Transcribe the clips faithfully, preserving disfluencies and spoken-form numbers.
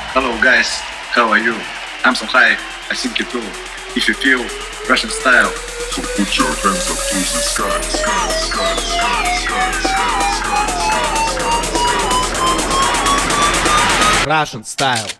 Hello guys, how are you? I'm so high, I think you too. If you feel Russian style, so put your hands up to the sky, sky, sky, sky, sky, sky, sky, sky. Russian style.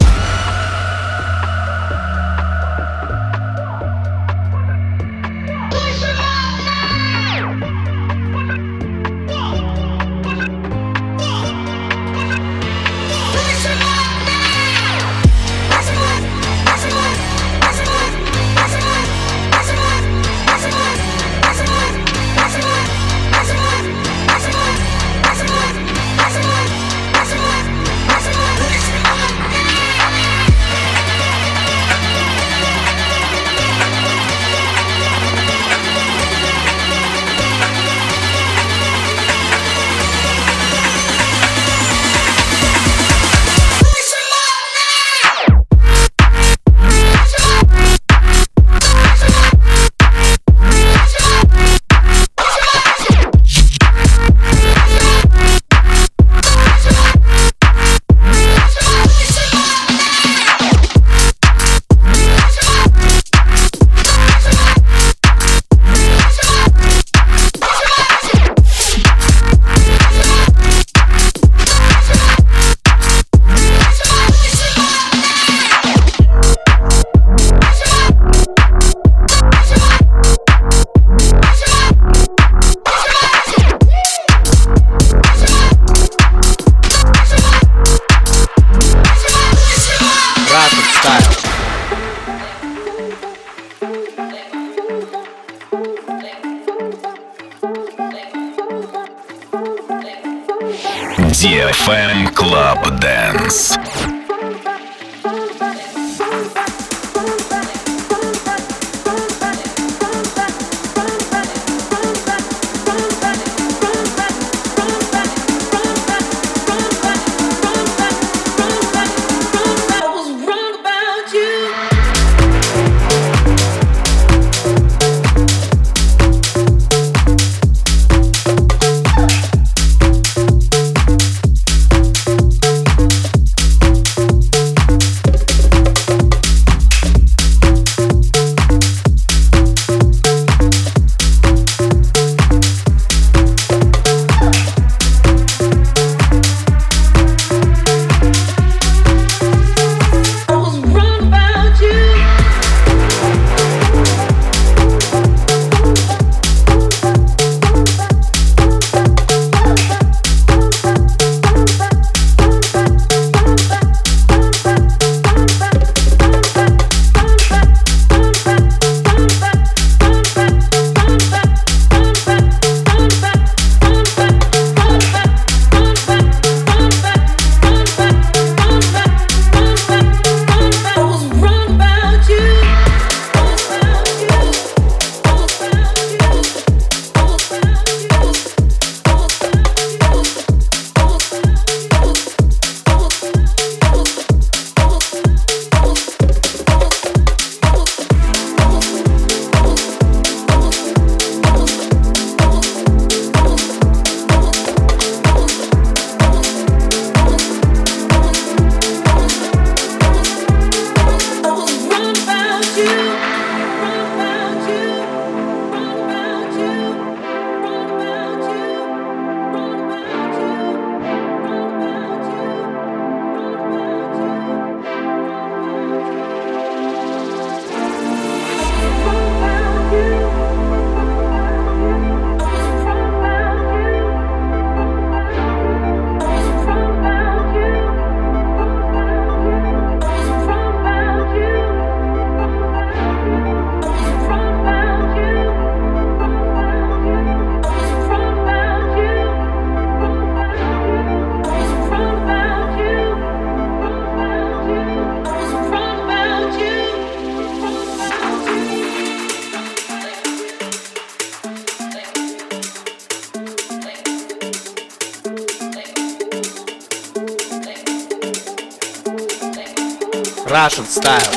ди эф эм Club Dance. Russian style.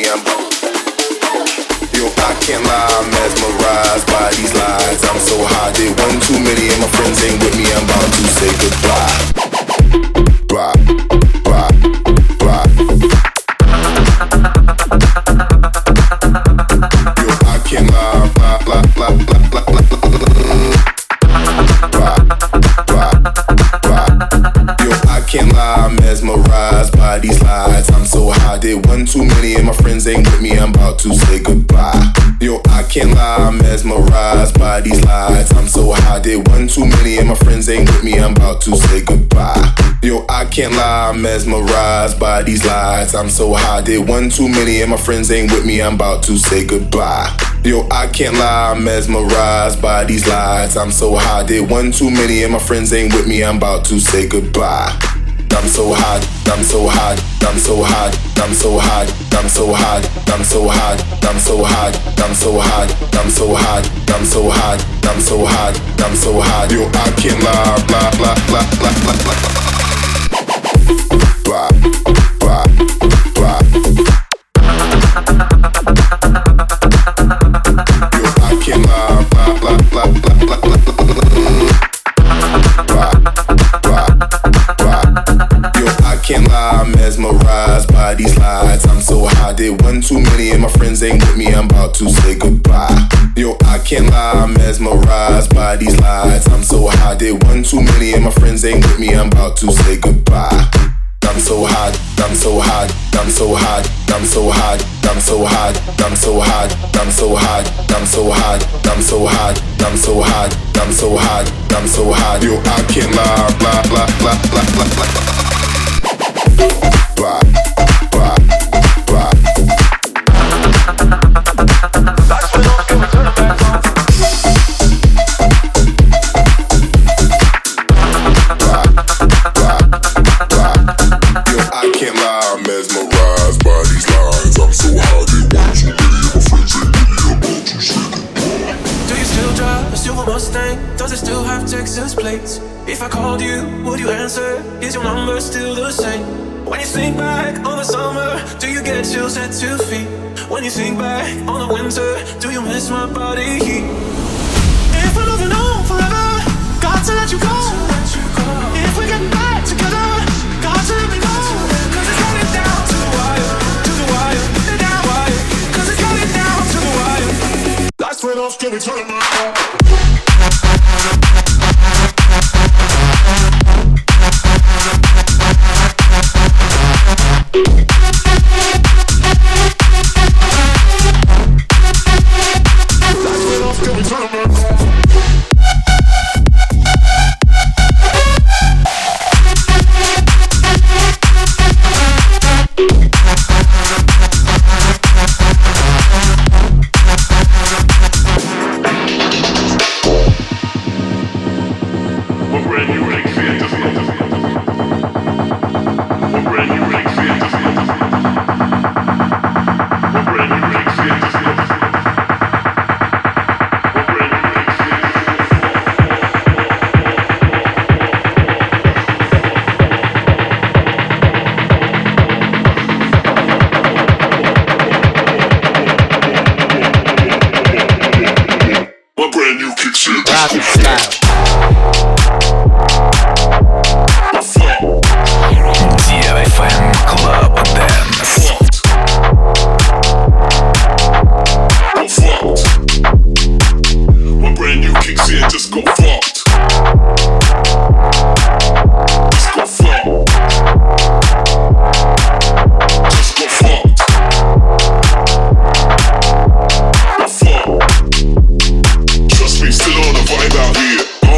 I'm Yo, I can't lie, I'm mesmerized by these lies. I'm so high, did one too many and my friends ain't with me. I'm about to say goodbye. Bye, bye, bye. Yo, I can't lie, blah, blah, blah, blah, blah, blah, blah. Bye, bye, bye. Yo, I can't lie, I'm mesmerized by these lies. I'm so high, did one too many and my friends ain't with me. I'm about to say goodbye. Yo, I can't lie, I'm mesmerized by these lies. I'm so high, did one too many and my friends ain't with me. I'm about to say goodbye. Yo, I can't lie, I'm mesmerized by these lies. I'm so high, did one too many and my friends ain't with me. I'm about to say goodbye. Yo, I can't lie, I'm mesmerized by these lies. I'm so high, did one too many and my friends ain't with me. I'm about to say goodbye. I'm so hot, I'm so hot, I'm so hot, I'm so hot, I'm so hot, I'm so hot, I'm so hot, I'm so hot, I'm so hot, I'm so hot, I'm so hot, I'm so hot. Yo, I can't lie, blah blah blah blah blah blah. Blah blah blah. Yo, I can't lie, blah blah blah blah blah blah. Can't lie, I'm mesmerized by these lies. I'm so high, did one too many and my friends ain't with me. I'm about to say goodbye. Yo, I can't lie, I'm mesmerized by these lies. I'm so high, did one too many and my friends ain't with me. I'm about to say goodbye. I'm so hot, I'm so hot, I'm so hot, I'm so hot, I'm so hot, I'm so hot, I'm so hot, I'm so hot, I'm so hot, I'm so hot, I'm so hot, I'm so hot. Yo, I can't lie, blah blah blah blah blah blah. Blah, blah, blah. That's when I'll give it to the back on. Blah, blah, blah. Yo, I can't lie, I'm mesmerized by these lines. I'm so high, they want too many of my friends ain't with me. I'm about to say goodbye. Do you still drive a silver Mustang? Does it still have Texas plates? If I called you, would you answer? Is your number still the same? When you think back on the summer, do you get chills at two feet? When you think back on the winter, do you miss my body heat? If we're moving on forever, got to let you go. If we get back together, got to let me go. Cause it's coming down to the wire, to the wire, the down wire. Cause it's coming down to the wire. That's when I'll give it to the Russian style. ди эф эм Club Dance. My brand new kicks in, just go fucked. Just go fucked. Just go fucked. Go fucked. Trust me, still on the vibe out here.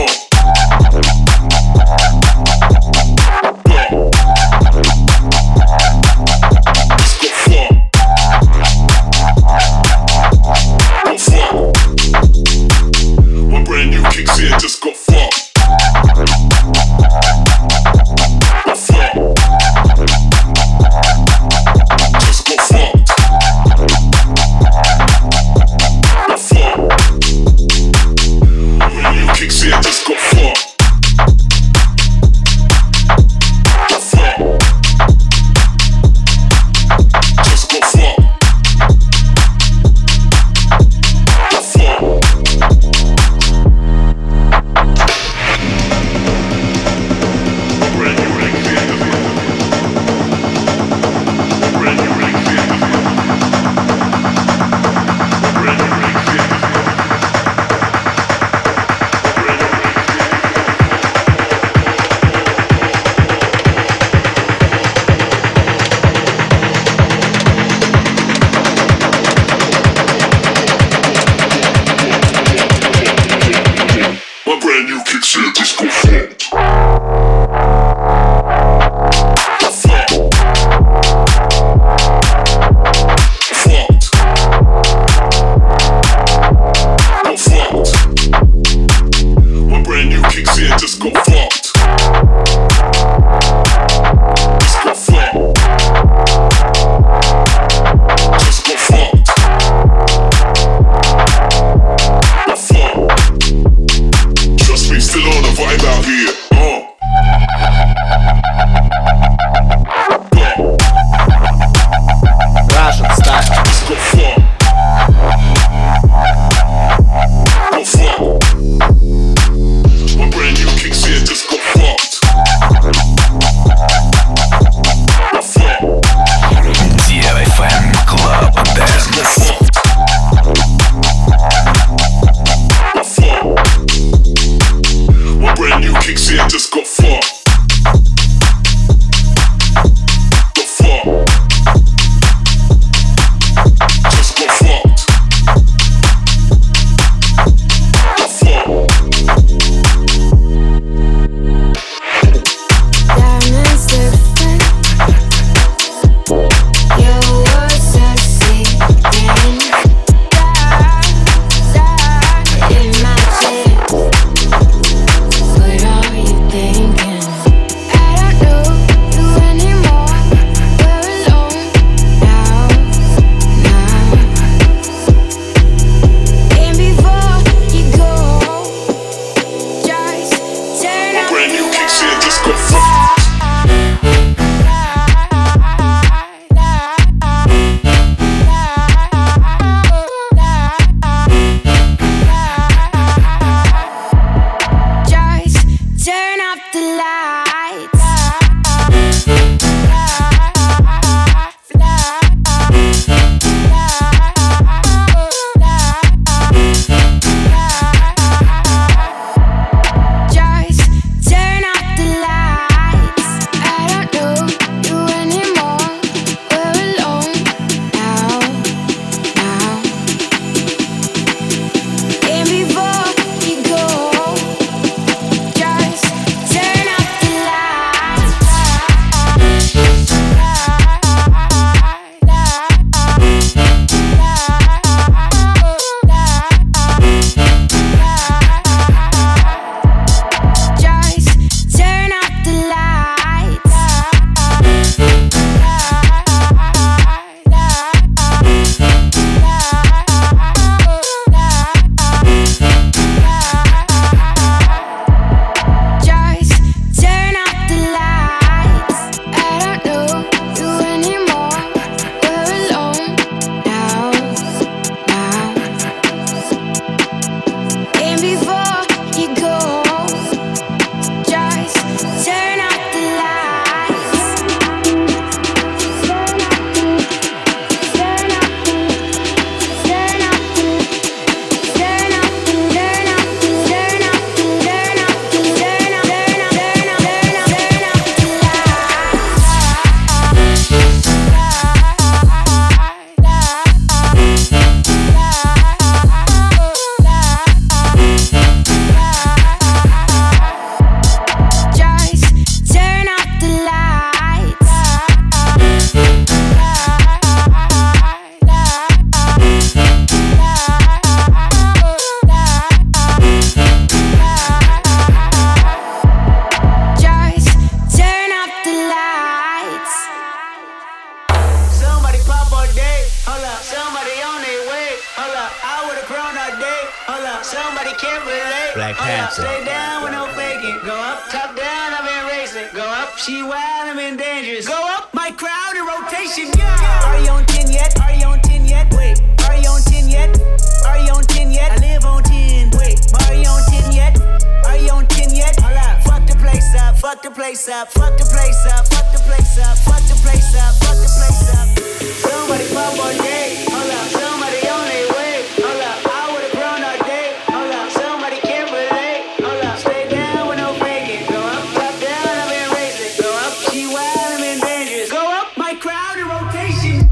hold up, somebody can't relate. Black hold Panther. Up, stay down with no faking. Go up, top down, I've been racing. Go up, she wild, I'm in dangerous. Go up, my crowd in rotation. Yeah. Are you on ten yet? Are you on ten yet? Wait, are you on ten yet? Are you on ten yet? I live on ten. Wait, are you on ten yet? Are you on ten yet? Hold up, fuck the place up, fuck the place up, fuck the place up, fuck the place up, fuck the place up, fuck the place up. Somebody pop all day, hold up, somebody on their way, hold up, I would've grown all day, hold up, somebody can't relate, hold up, stay down with no faking, go up, top down, I've been racing, go up, she wild, I'm in dangerous, go up, my crowd in rotation.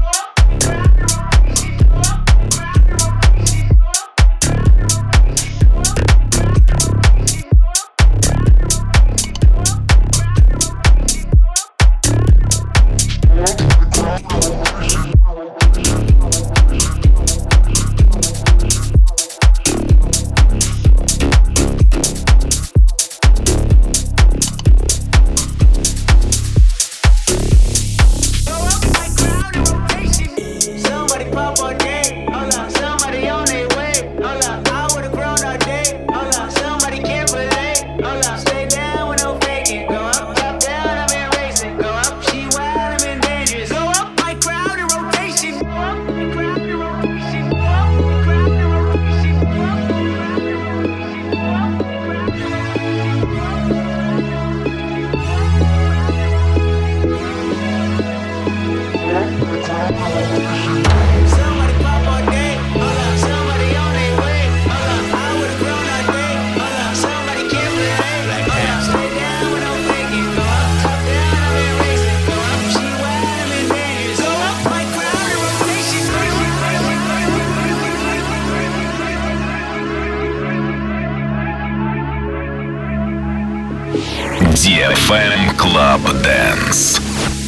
ди эф эм Club Dance.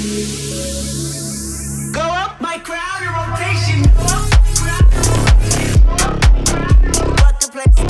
Go up, my crowd in rotation. Fuck the place.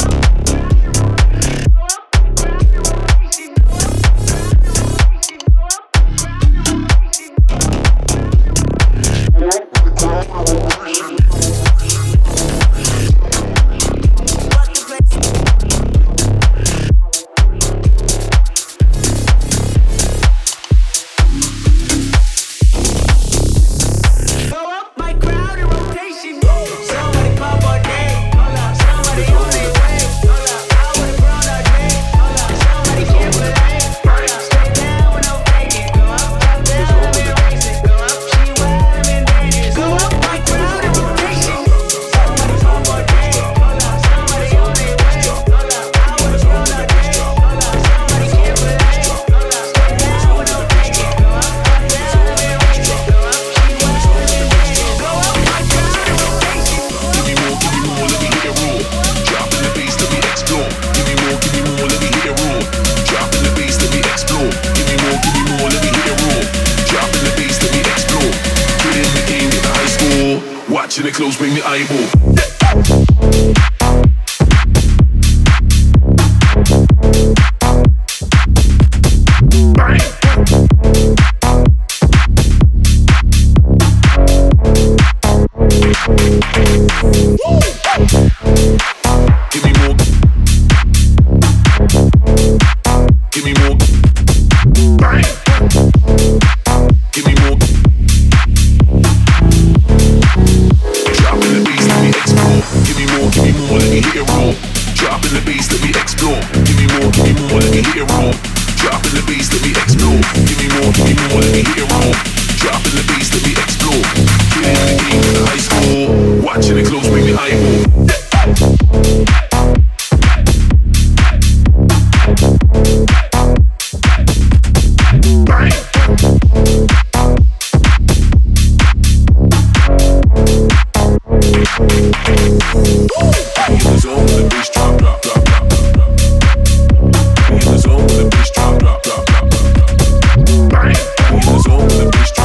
Watching it close, bring the eyeball.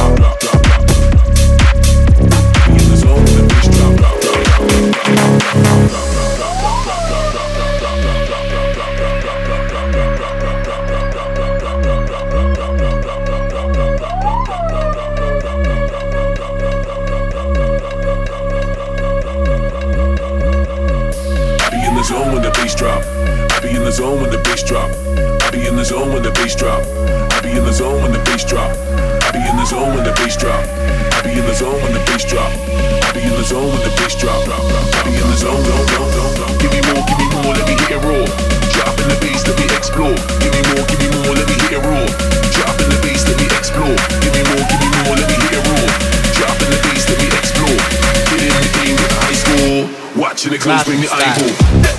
Bye. zone when the bass drop. I be in the zone when the bass drop. I be in the zone when the bass drop. I be in the zone when the bass drop. I be in the zone when the bass drop. I be in the zone when the bass drop. I be in the zone, zone, zone, zone, zone. Give me more, give me more, let me hit it raw. Drop in the bass, let me explore. Give me more, give me more, let me hit it raw. Drop in the bass, let me explore. Give me more, give me more, let me hit it raw. Drop in the bass, let me explore. Get in the game with the high score. Watching the close, bring the eyeball.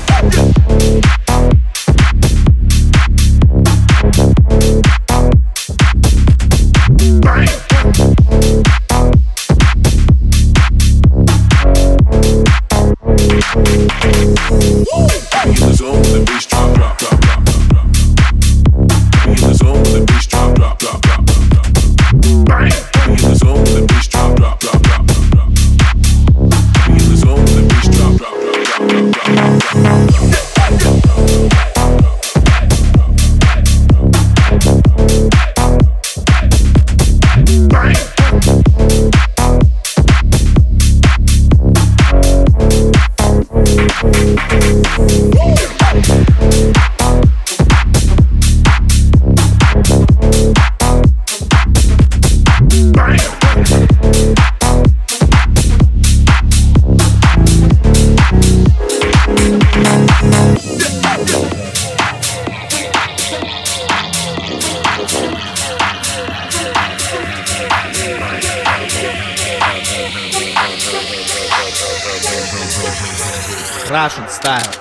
Russian style.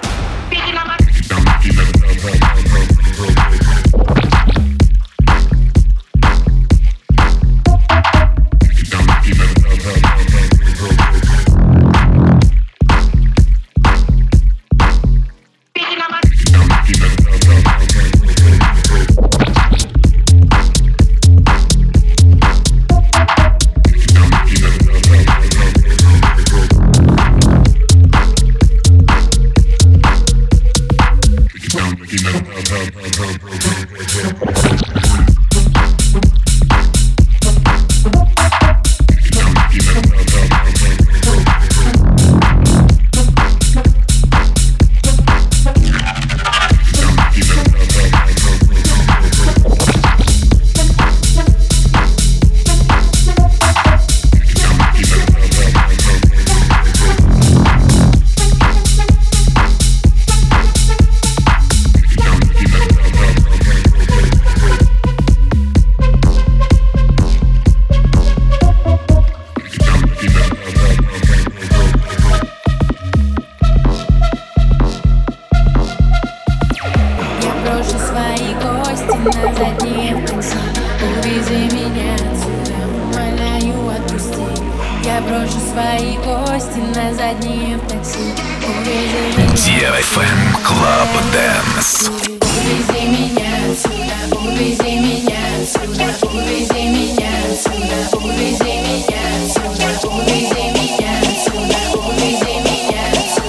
ди эф эм Club Dance. Увези меня отсюда, увези меня отсюда, увези меня отсюда, увези меня отсюда, увези меня отсюда, увези меня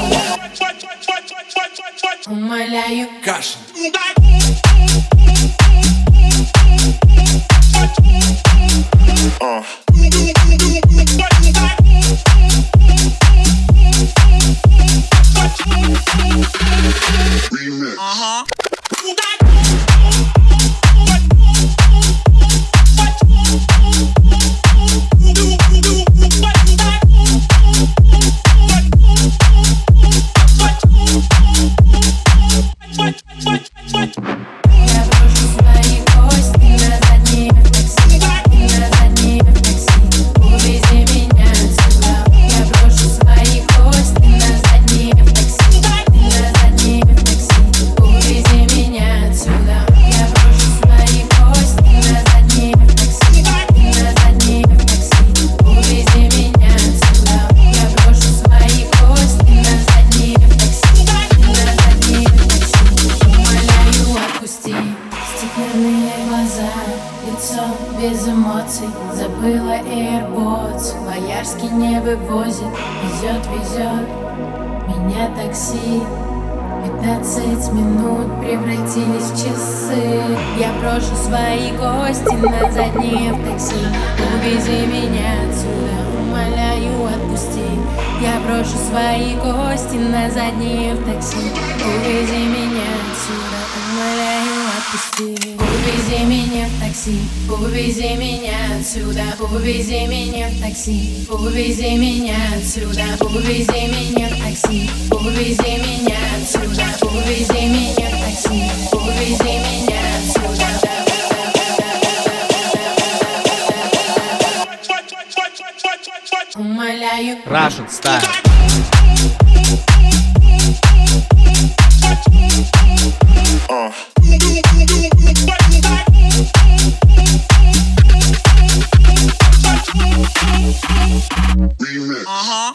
отсюда. Умоляю, Кашин. Uh-huh. Забыла AirPods, Боярский не вывозит. Везет, везет меня такси. Пятнадцать минут превратились в часы. Я брошу свои кости на заднее в такси. Увези меня отсюда, умоляю, отпусти. отпусти. Я брошу свои кости на заднее в такси. Увези меня отсюда, умоляю, отпусти. Увези меня в такси, увези меня отсюда. Увези меня в такси, увези меня отсюда. Увези меня в такси, увези меня отсюда. Увези меня в такси, увези меня отсюда. Умоляю. Russian style. Uh. Remix. Uh-huh.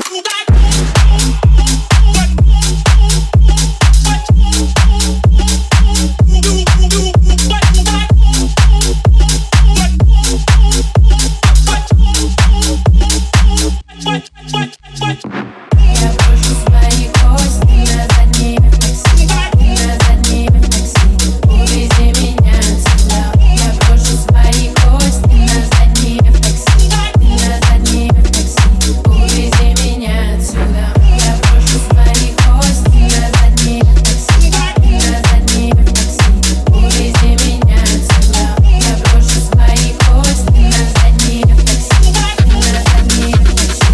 Я брошу свои кости на заднее в такси. На заднее в такси. Увези меня отсюда. Я брошу свои кости на заднее в такси. На заднее в такси. Увези меня отсюда. Я брошу свои кости на заднее в такси. На заднее в такси. Увези меня отсюда. Я брошу свои кости на заднее в такси. На заднее в такси.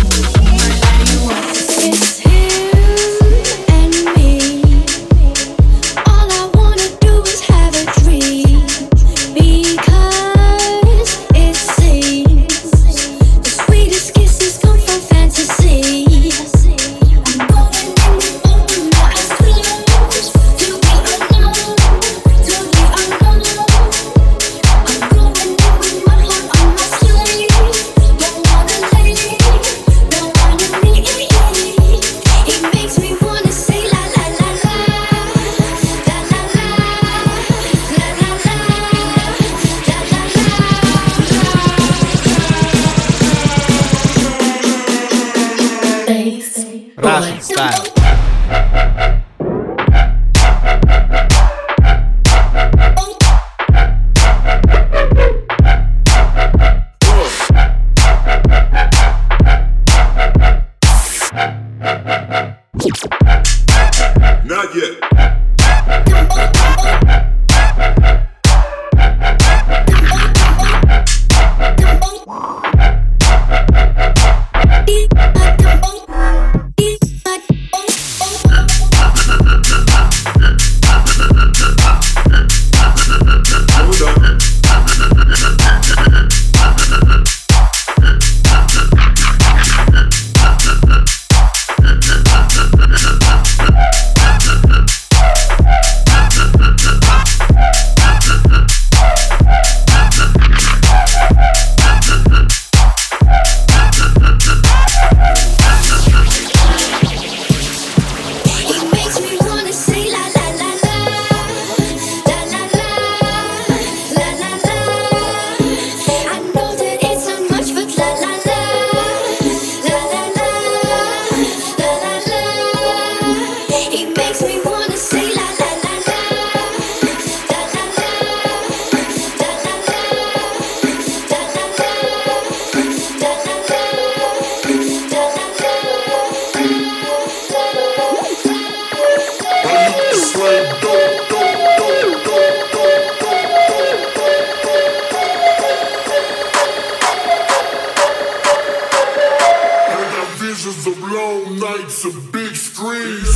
It's you and me. All I wanna do is have a dream, because it seems the sweetest kisses come from fantasy. I'm going in with open eyes closed to the unknown, to the unknown. I'm going in with my heart on my sleeve. Don't wanna leave, don't wanna leave. He makes me wanna say la la la la, la la la, la la la, la la la. Russian style. Not yet. Hold on. He makes me wanna say la la la la, la la la, la la la. I know that it's not much, but la la la, la la la, la la la. He makes me wanna say la la la la, la la la, la la la, la la la, la I got visions of long nights and big screens.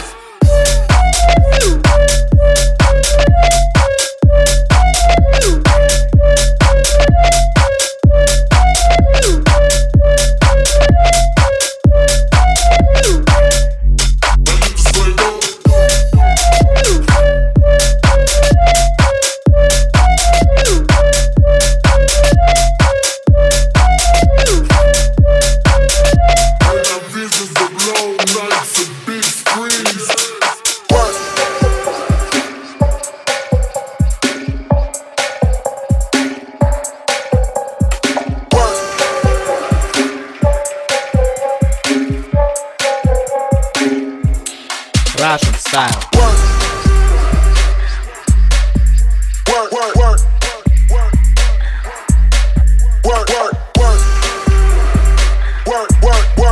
I got visions of long nights and big screens. Russian style. Work, work, work, work, work, work, work, work, work, work.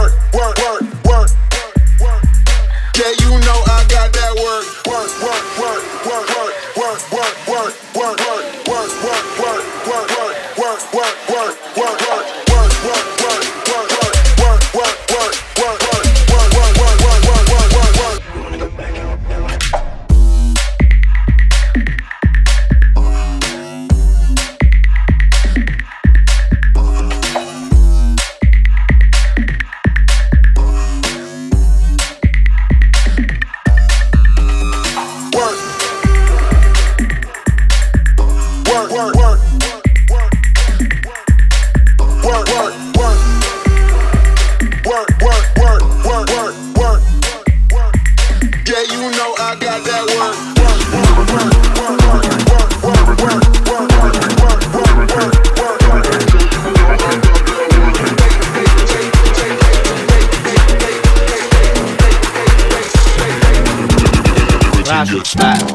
Russian style.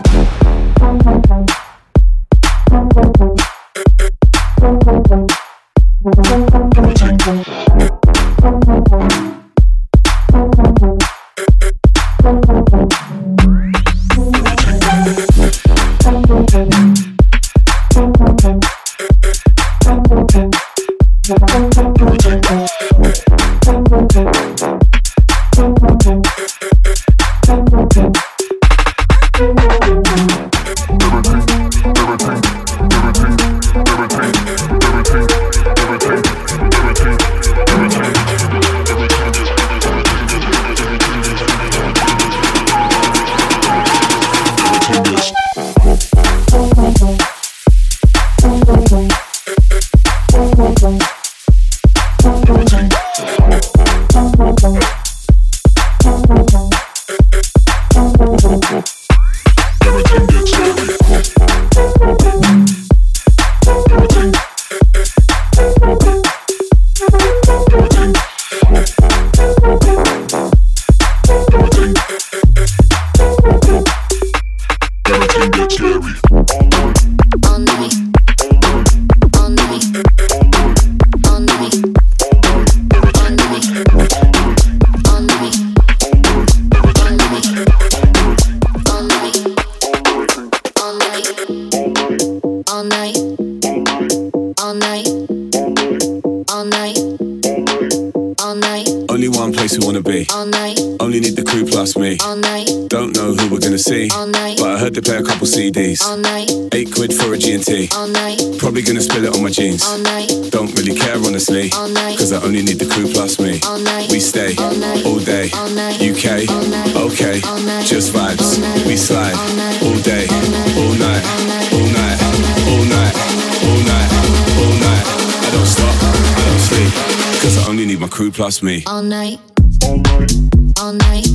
C Ds, eight quid for a G and T. Probably gonna spill it on my jeans. Don't really care honestly, cause I only need the crew plus me. We stay all day, U K, okay, just vibes. We slide all day, all night, all night, all night, all night, all night. I don't stop, I don't sleep, cause I only need my crew plus me. All night, all night, all night,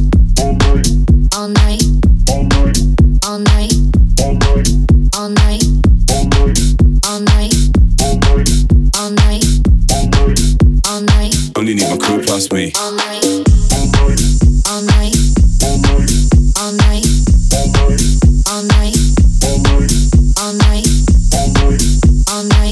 all night, all night. All night, all night, all night, all night. Only need my crew plus me. All night, all night, all night, all night, all night, all night,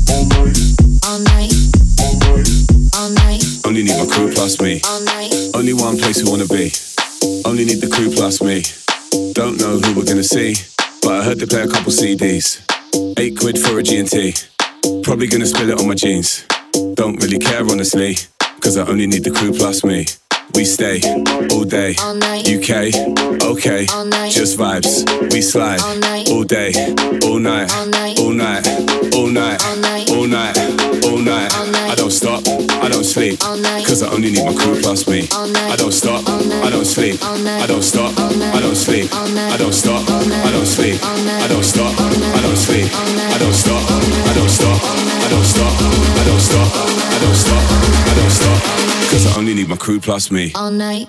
all night, all night. Only need my crew plus me. All night. Only one place we wanna be. Only need the crew plus me. Don't know who we're gonna see, but I heard they play a couple C Ds. Eight quid for a G and T. Probably gonna spill it on my jeans. Don't really care honestly, cause I only need the crew plus me. We stay all day, all night, U K, okay, all night, just vibes. We slide all night, all day, all night, all night, all night, all night, all night, all night, all night. I don't stop, I don't sleep, cause I only need my crew plus me. I don't stop, I don't sleep, I don't stop, I don't sleep, I don't stop, I don't sleep, I don't stop, I don't sleep, I don't stop, I don't stop, I don't stop, I don't stop, I don't stop, I don't stop, cause I only need my crew plus me. all night.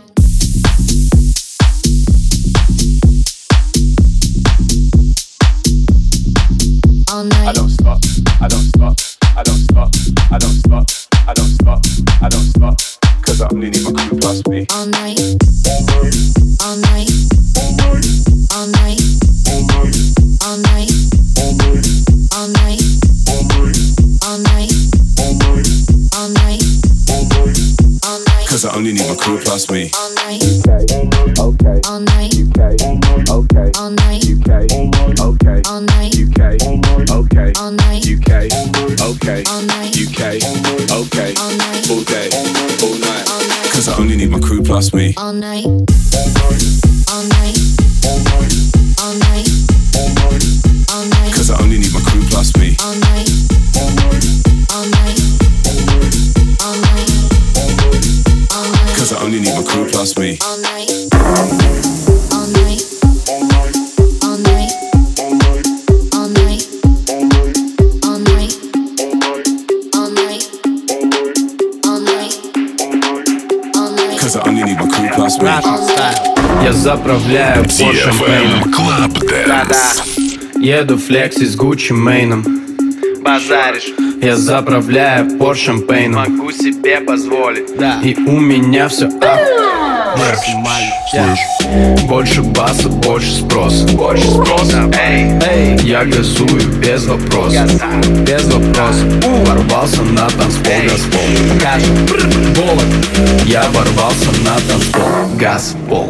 All night. I don't stop, I don't stop, I don't stop, I don't stop, I don't stop, I don't stop, cause I only need my crew plus me. All night, all night, all night, all night, all night, all night, all night, all night. Cause I only need my crew plus me. All night, okay, all night, U K, okay, all night, U K, okay, all night, U K, okay, all night, U K, okay, all night, U K, okay, all night, all day, all night. all night. Cause I only need my crew plus me. All night, all night, all night, all night. Cause I only need my crew plus me. All night, all night, all night, all night. Cause I only need my crew plus me. All night, all night, all night, all night, all night, all night, all night, all night. Cause I only need my crew plus me. Russian style. Я заправляю по шампейном. Club Да-да. Еду флекси с Гуччи Мейном. Базаришь. Я заправляю по шампейном. Могу себе позволить. Да. И у меня все ап. максимально. Yeah. Больше баса, больше спроса. Больше спроса, эй, эй. Я газую без вопросов. Без вопросов. Ворвался на танцпол, газпол. Кажет, голод. Я ворвался на танцпол, газпол.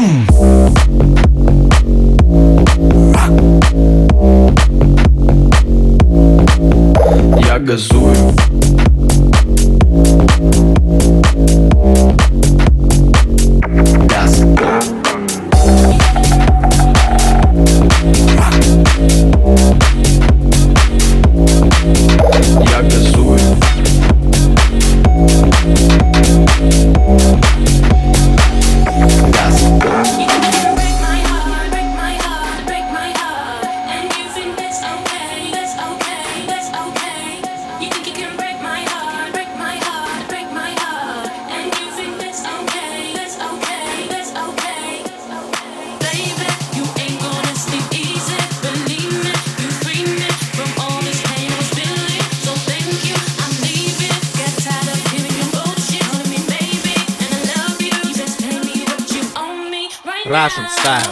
Я газую. Газпол. Я газую. Russian style.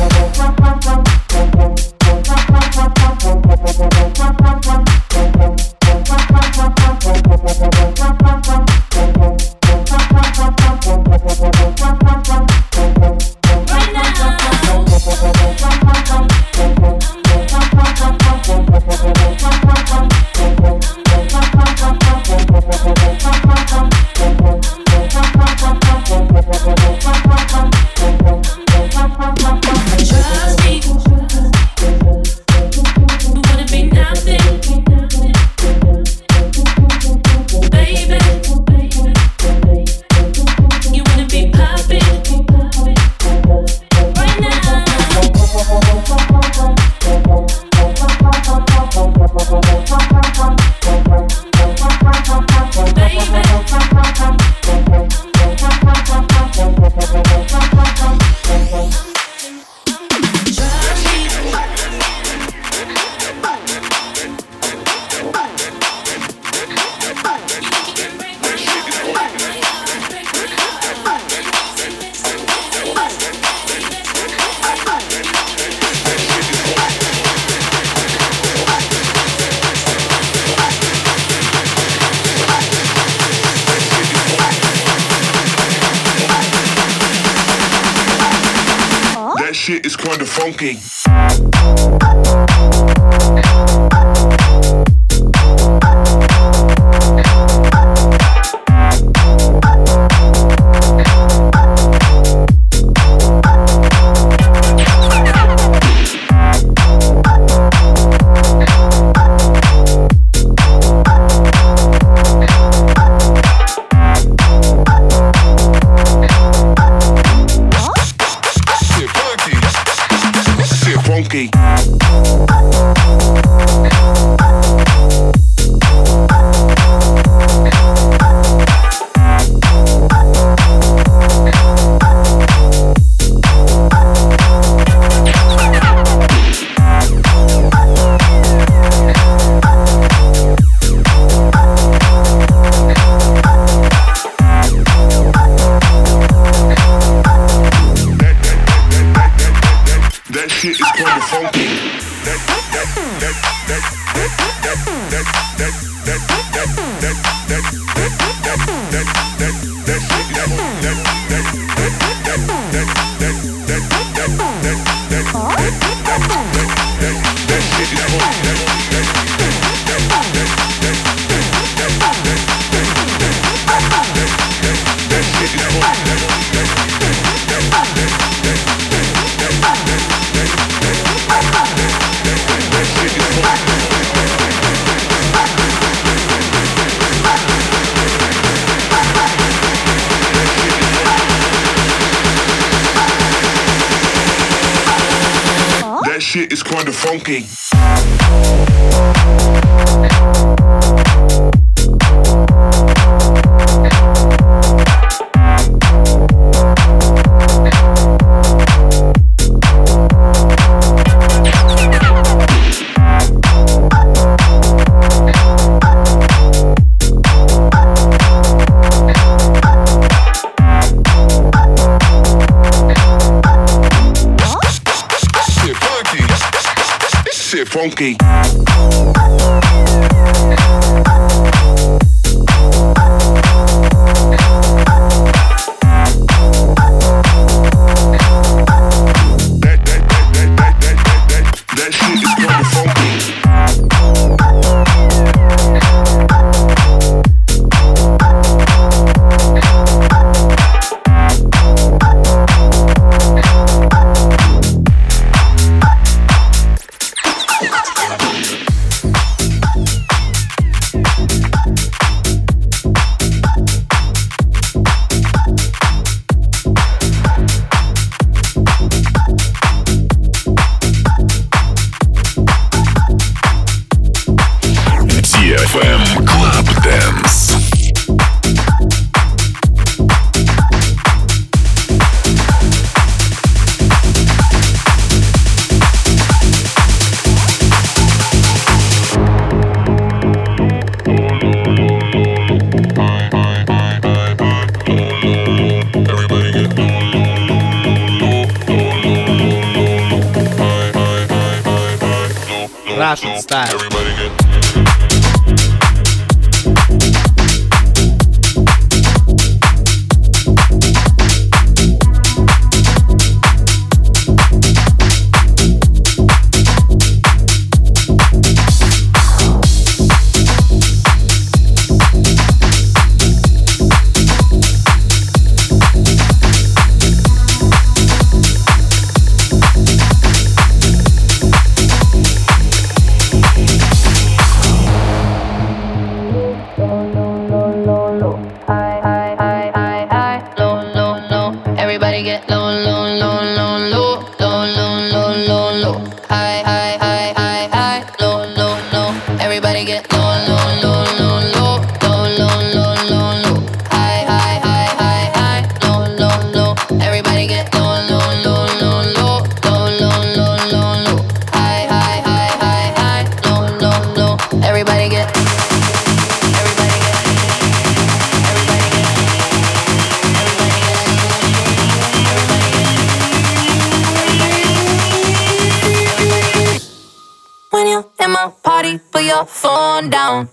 Trust me. shit is kinda funky. Funky. That shit is kinda funky. That that that that that that that that that that that that that that that that that shit is that that that that that that that that that that that that shit is that shit That shit is kinda funky. funky. Russian style. Everybody get phone down.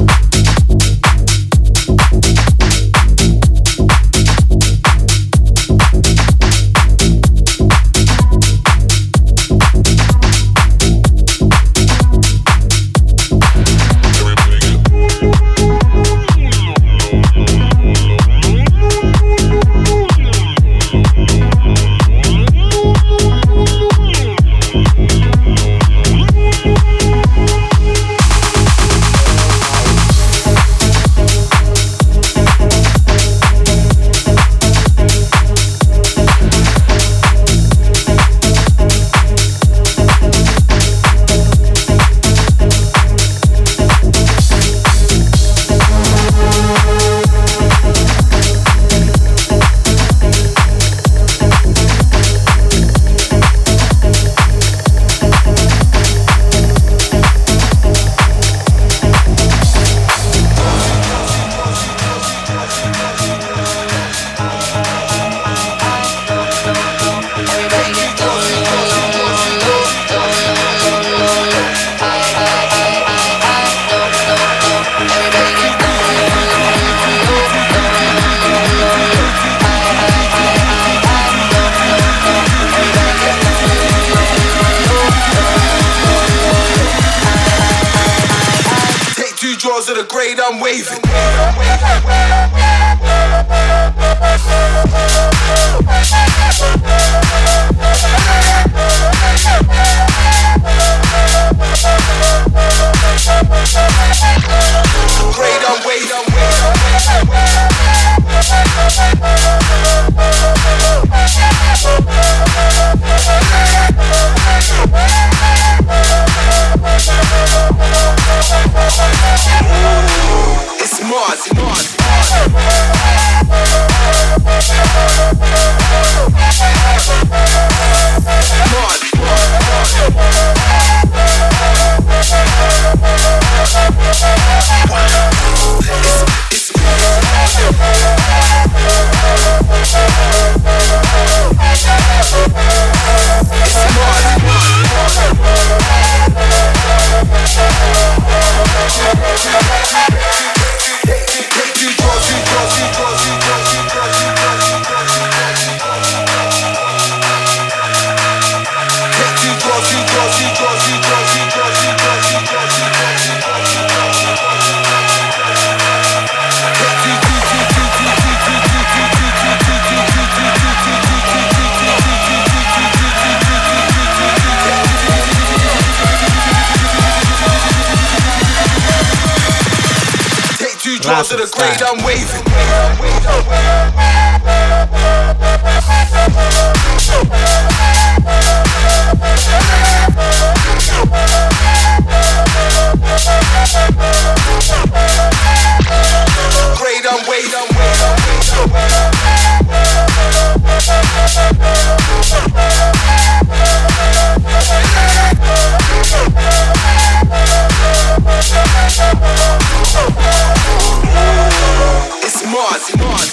To the grade, I'm waving. Grade, I'm waving. It's Mars, Mars, Mars. to the grade I'm waving. Grade I'm waving. It's Mars, Mars,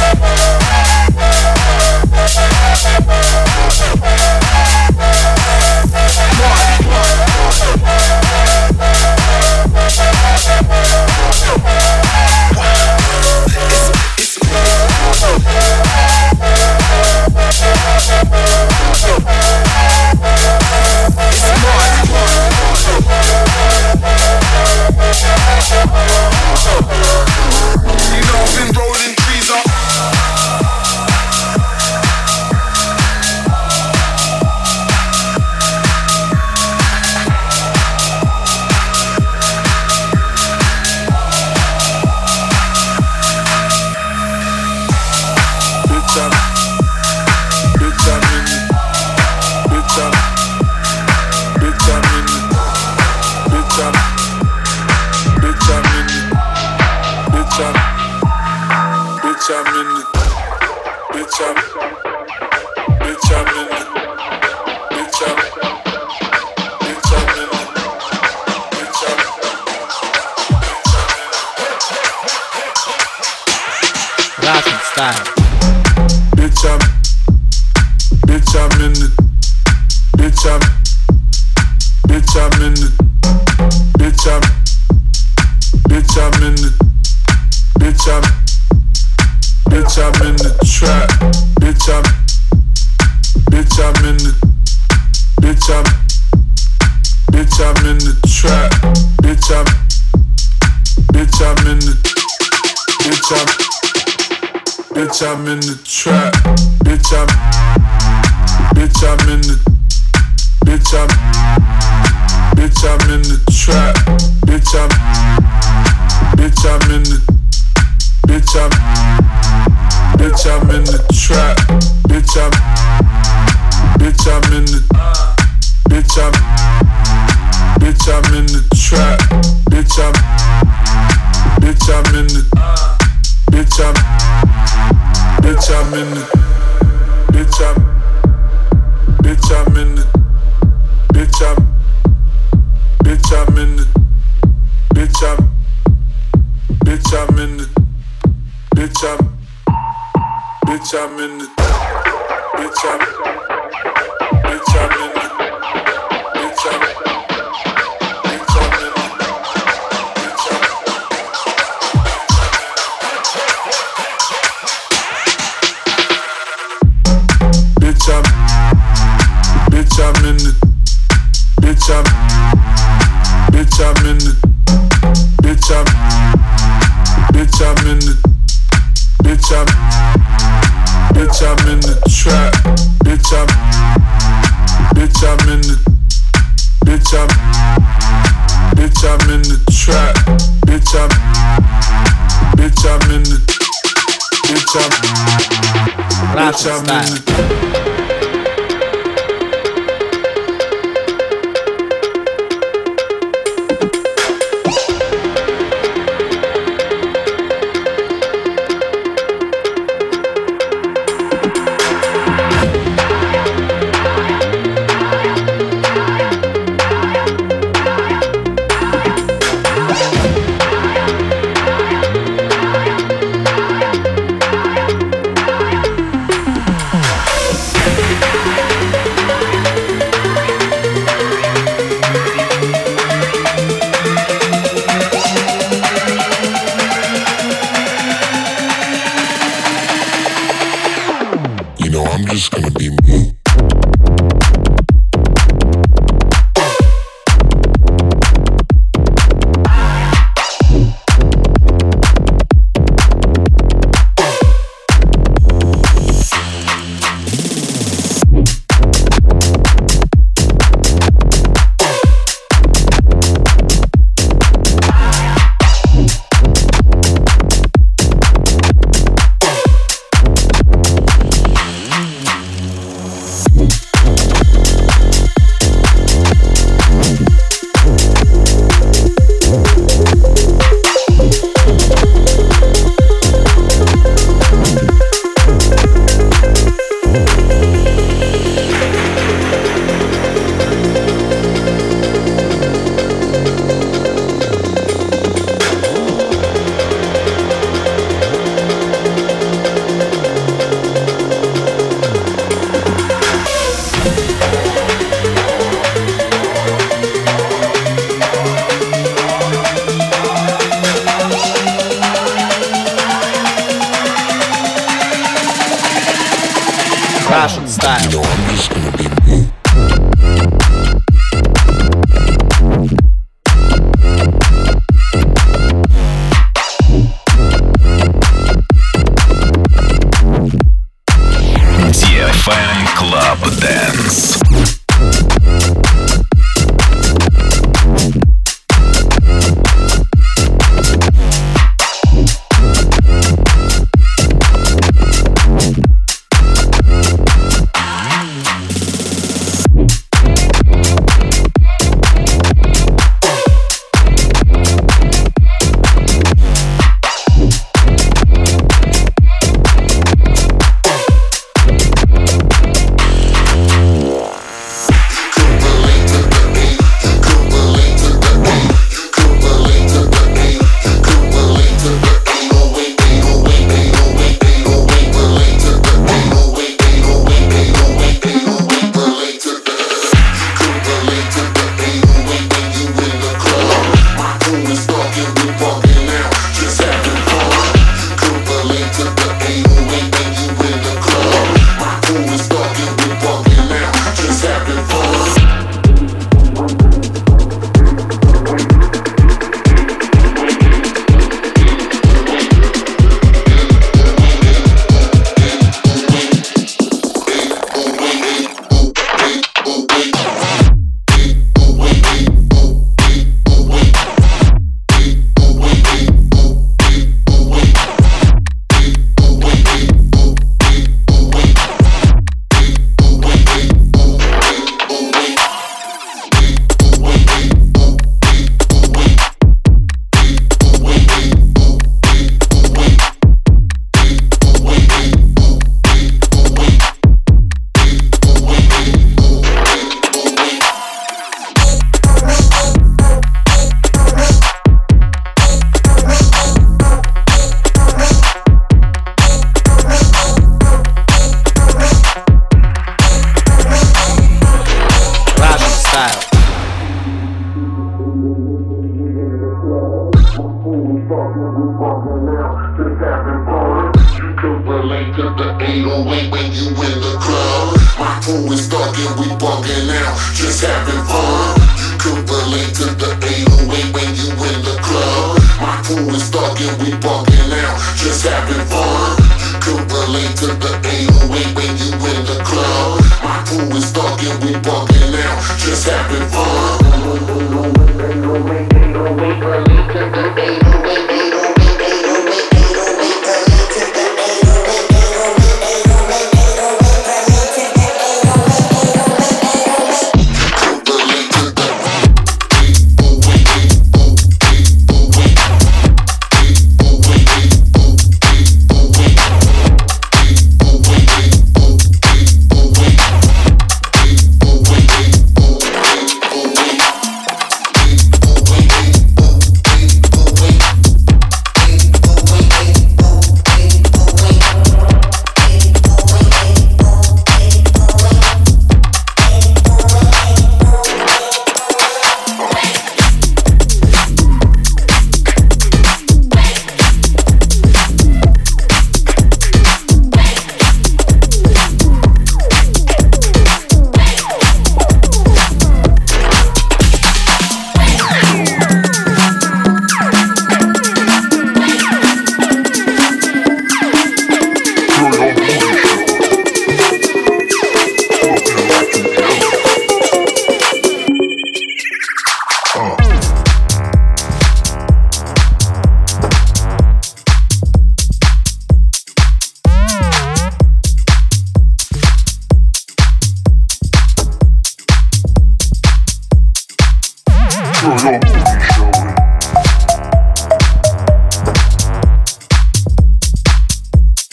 I'm in the trap, bitch I'm, bitch I'm in the, bitch I'm, bitch I'm in the trap, bitch I'm, bitch I'm in the, bitch I'm, bitch I'm in the trap, bitch I'm, bitch I'm in the, bitch I'm, bitch I'm in the trap, bitch I'm, bitch I'm in the, bitch I'm. Bitch, I'm in it. Bitch, I'm. Bitch, I'm in it. Bitch, I'm. Bitch, I'm in it. Bitch, I'm. Bitch, I'm in it. Bitch, I'm. Bitch, I'm in it. Bitch, I'm. Bitch, I'm in it. Bitch, I'm. Bitch, I'm in it. Bitch, I'm, bitch, I'm in it. Bitch, I'm, bitch, I'm in it. Bitch, I'm, bitch, I'm in it. Bitch, I'm, bitch, I'm in the trap. Bitch, I'm, bitch, I'm in it. Bitch, I'm, bitch, I'm in the trap. Bitch, I'm, bitch, I'm in it. Bitch, I'm, bitch, I'm in it. Russian style. You know I'm just gonna be me. ди эф эм Club Dance.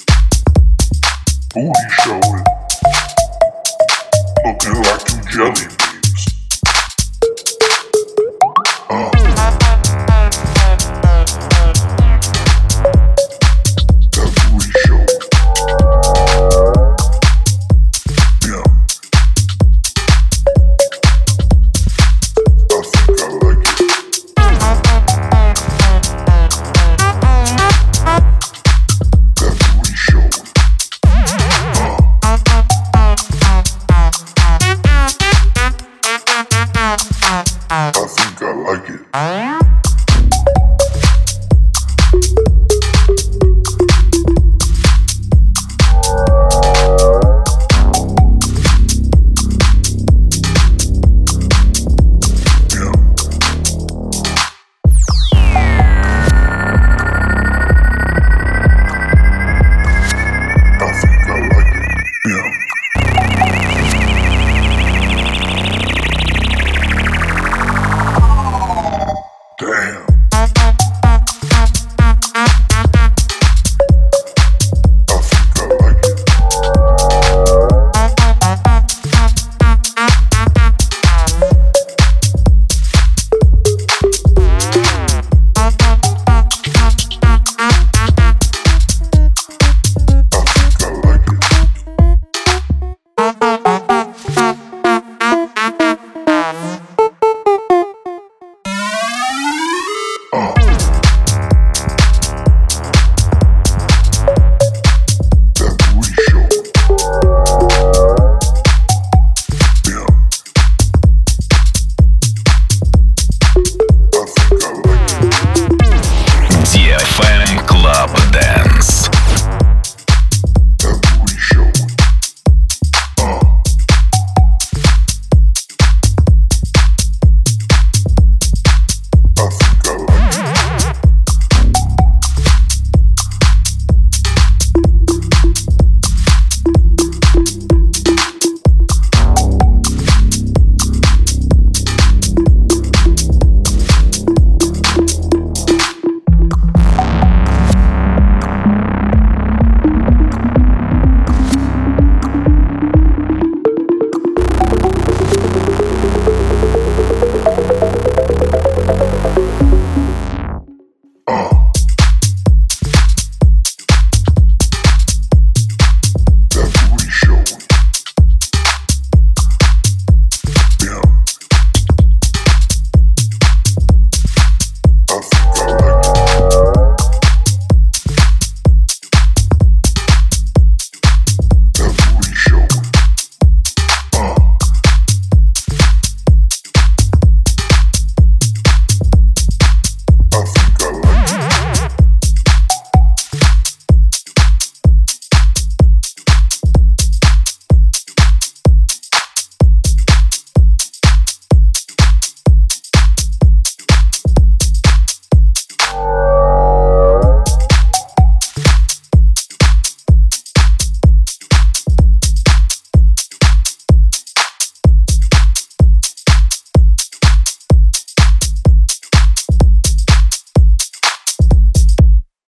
Booty showing, looking like you jelly.